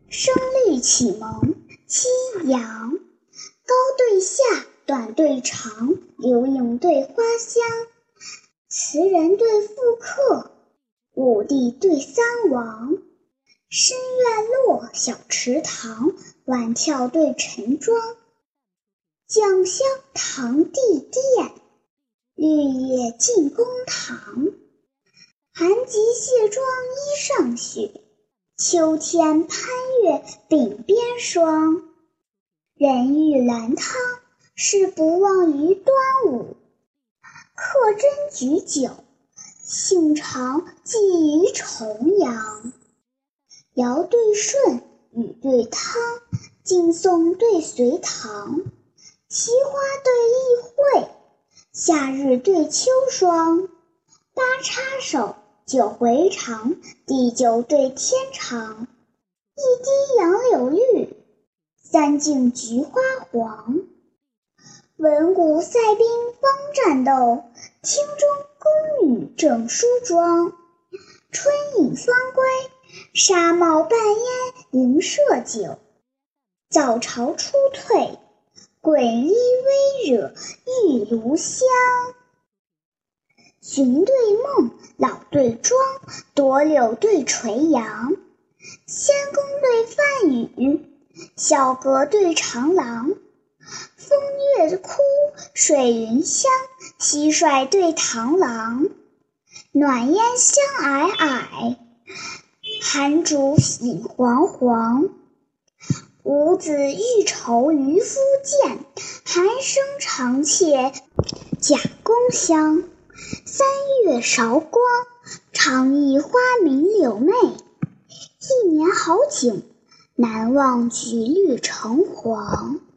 声律启蒙，七阳。高对下，短对长，流影对花香，词人对赋客，武帝对三王。深院落，小池塘，晚眺对晨妆。酱香堂地殿，绿野进公堂。寒极卸妆衣上雪，秋天攀越鬓边霜。人欲兰汤，是不忘于端午。客斟举酒，兴尝寄于重阳。尧对舜，禹对汤，敬颂对隋唐。奇花对异卉，夏日对秋霜。八叉手，九回肠，地久对天长。一滴杨柳绿，三径菊花黄。文武赛兵方战斗，厅中宫女正梳妆。春饮方归，纱帽半烟迎射酒。早朝初退，滚衣微惹玉炉香。寻对梦，老对妆，夺柳对垂杨。仙公对梵语，小阁对长廊。风月哭，水云香，蟋蟀对螳螂。暖烟香霭霭，寒竹影煌煌。伍子欲酬渔夫剑，寒声长切甲宫香。三月韶光，长忆花明柳媚。一年好景，难忘橘绿橙黄。